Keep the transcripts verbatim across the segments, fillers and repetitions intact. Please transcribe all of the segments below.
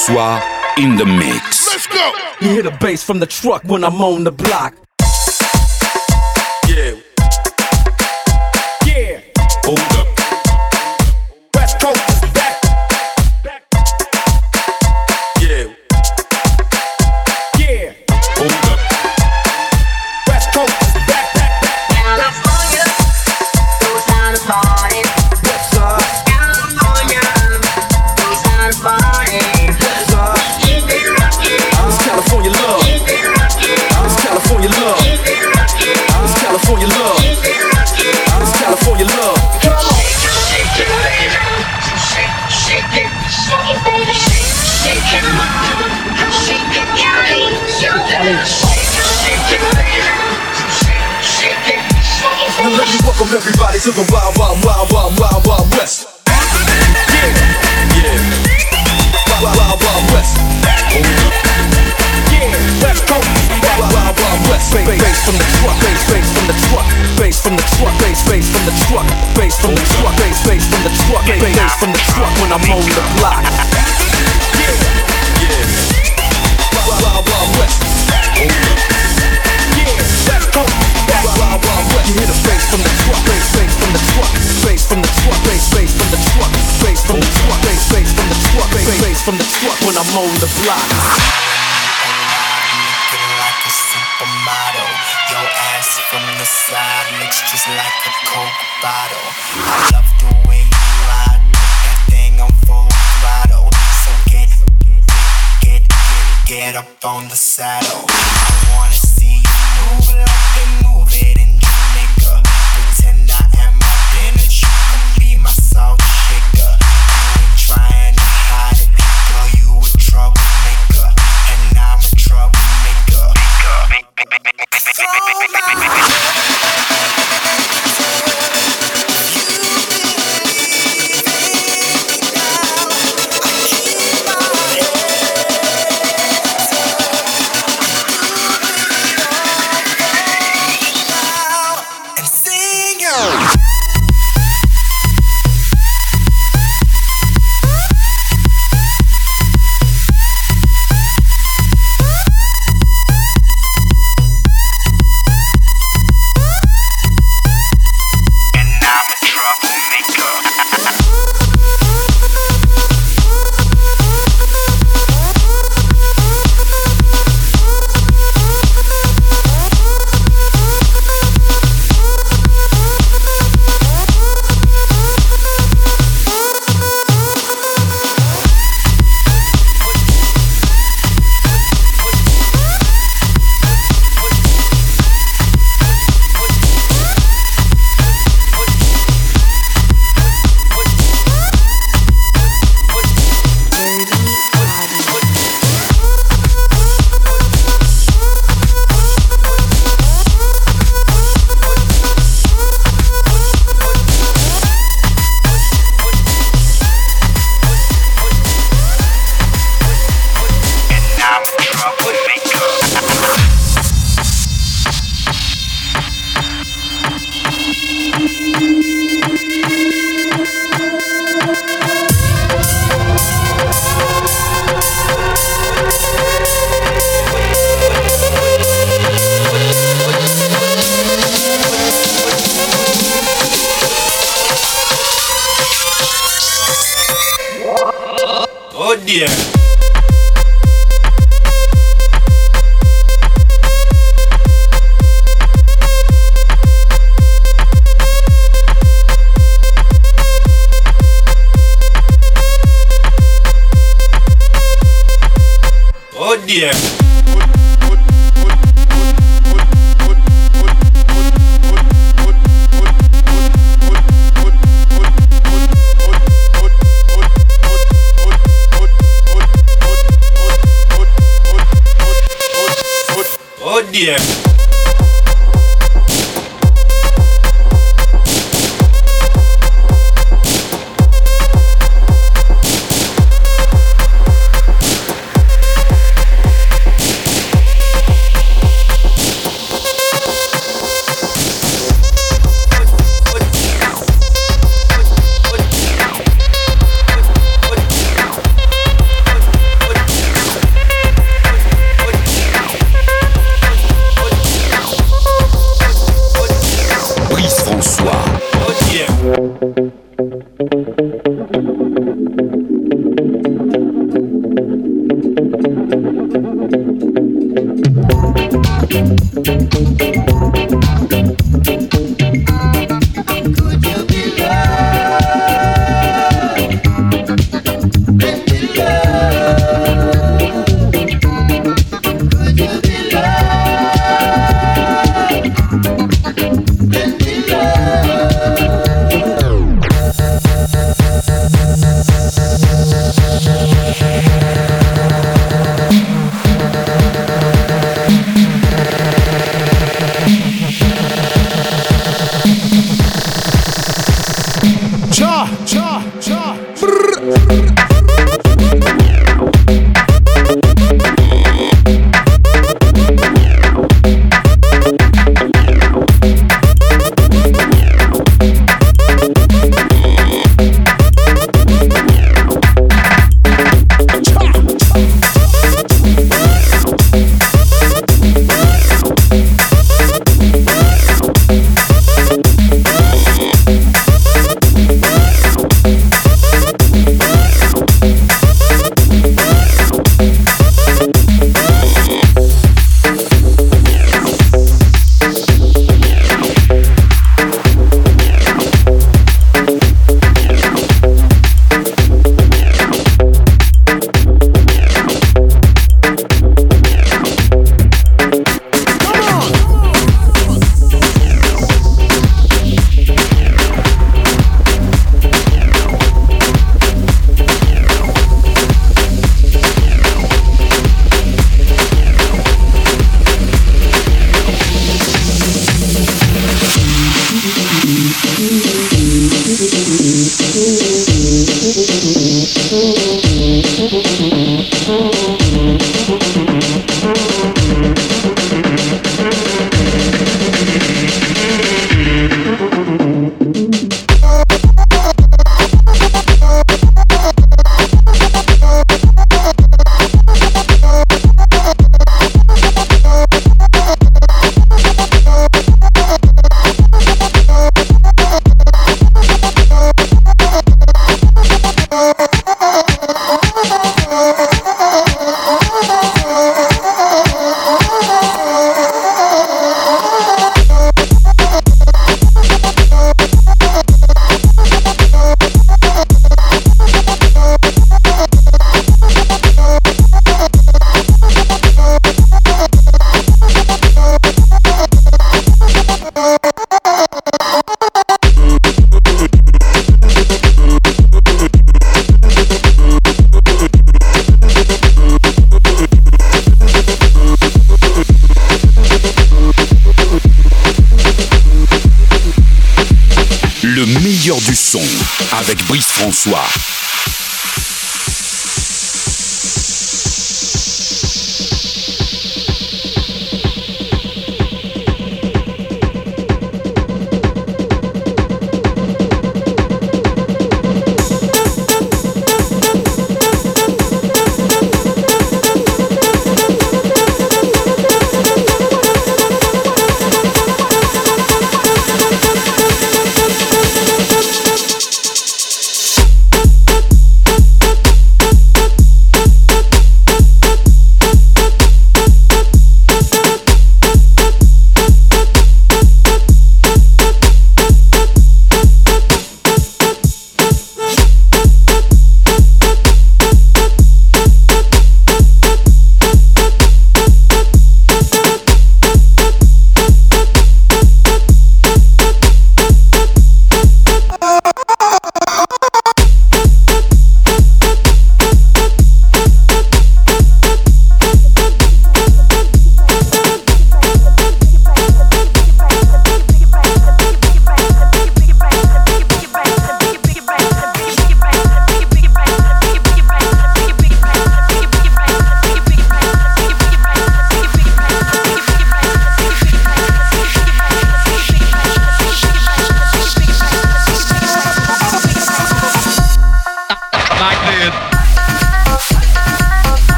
François in the mix. Let's go. You hear the bass from the truck when I'm on the block. Yeah. Yeah. Hold up. West Coast is back. Yeah. Yeah. Hold up. West Coast is back. California knows how to party. West side. California knows how to party. West side. Keep it rockin'. It's California love. Keep it rockin'. It's California love. Keep it rockin'. It's California love. Keep it rockin'. It's California love. Come on. Shake it, baby. Shake, shake it, shake it, baby. Shake, shake it, shake it, Cali. Shake, shake it, baby. Shake, shake it, shake it, Now baby. let me welcome everybody to the wild, wild, wild, wild, wild, wild west. Yeah, Yeah. wild, wild, wild west. Yeah, West Coast, wild, wild, wild west. Bass, bass from the truck, bass, bass from the truck, bass from the truck, bass, bass from the truck, bass from the truck, bass, bass from the truck, bass, bass from the truck when I'm on the block. Yeah, Yeah. wild, wild, wild west. Yeah, West Coast, wild, wild, wild west. You hear the bass from the truck, bass, bass from the truck, bass from the truck, bass, bass from the truck, bass from the truck, bass, bass from the truck, bass, bass from the truck when I'm on the block. Looking like a supermodel. Your ass from the side looks just like a Coke bottle. I love the way you ride that thing on full throttle. So get, get, get, get up on the saddle. I wanna see you move like they move it in Jamaica. Pretend I am my spinach, you can be my salt shaker. You ain't trying to hide it, girl, you a troublemaker, and I'm a troublemaker. So and sing it. And I'm a troublemaker. And I'm a troublemaker. Oh dear. Oh dear. Oh dear. Du son avec Brice François.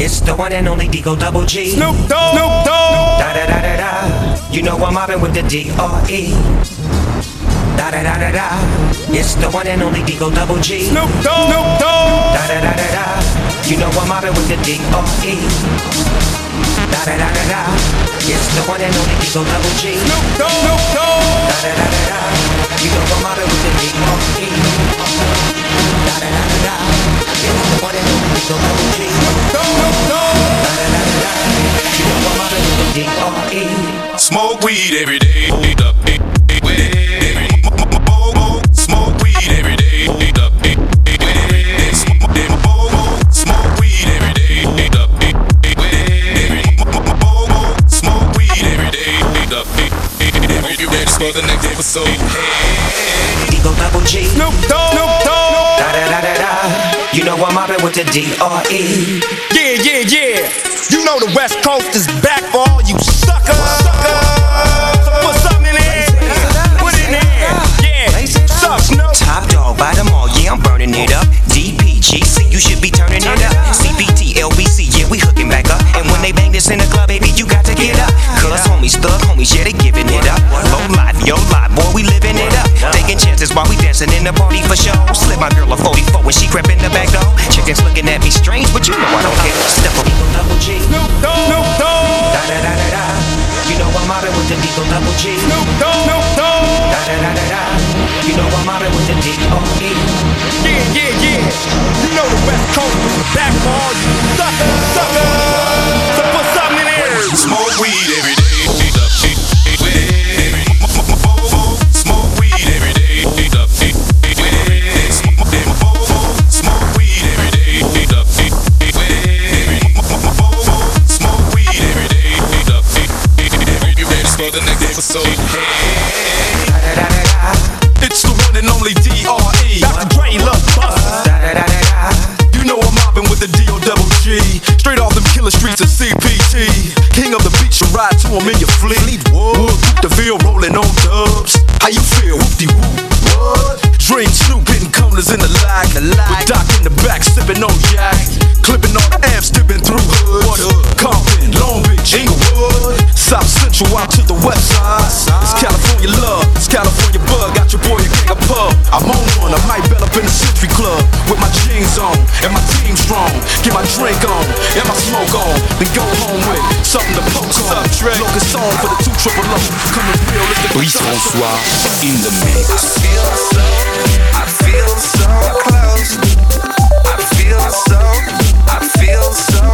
It's the one and only Digo Double G. Snoop Dogg, Snoop Dogg. Da da da da da. You know I'm mobbing with the D R E. Da da da da da. It's the one and only Digo Double G. Snoop Dogg, Snoop Dogg. Da da da da da. You know I'm mobbing with the D R E. Da da da da da. It's the one and only Digo Double G. Snoop Dogg, Snoop Dogg. Da da da da da. You know I'm mobbing with the D R E. Da da da da da. It's the one and only Digo Double G. Snoop Dogg, Snoop Dogg. Da da da da da. You know I'm mobbing with the D R E. Smoke weed every day. Smoke weed every day. Smoke weed every day. Smoke weed every day. Hope you ready for the next episode. Digo Double G. Snoop Dogg, Snoop Dogg. Da da da da da. You know I'm mobbing with the D R E. Yeah, yeah, yeah. You know the West Coast is back for all you suckers. Suckers. So put something in there. Put it in there. Yeah. Suck, Snoop. Top dog by them all, yeah, I'm burning it up. D P G C, you should be turning it up. C B T, L B C, yeah, we hooking back up. And when they bang this in the club, baby, you got to get up. Cause homies, thug homies, yeah, they giving it up. Low life, yo life, boy, we living it up. Taking chances while we dancing in the party for show. Slip my girl a forty-four when she crept in the back door. Chickens looking at me strange, but you know I don't care. Step up, Digo Double G. Snoop Dogg, Snoop Dogg. Da da da da da. You know I'm mobbing with the Digo Double G. Snoop Dogg, Snoop Dogg. Da da da da da. You know I'm mobbing with the D R E. Yeah, yeah, yeah. You know the West Coast is back for all you suckers. Suckers. So put something in there. Smoke weed every day. Smoke weed every day. Smoke weed every day. Smoke weed every day. Hope you ready for the next episode. Da da da da da. It's the one and only D R E. Doctor Dre, Love Busters. Da da da da da. You know I'm mobbing with the D O double G. Straight off them killer streets of C P T. King of the beach, you ride to him in your fleet. Wood, the Ville rolling on dubs. How you feel? Whoop-de-whoop. What? Dream Snoop hitting corners in the lag. With Doc in the back sipping on yak. Clipping all the amps, dipping through hoods. Compton, Long Beach, Inglewood. South Central out to the west side. It's California love, it's California bug. Got your boy a gang of pub. I'm on one, I might bell up in the Century Club. With my jeans on, and my team strong. Get my drink on, and my smoke on. Then go home with something to poke on. Locust on for the two triple O. Coming real, it's the Brice François in the mix. I feel so, I feel so close. I feel so, I feel so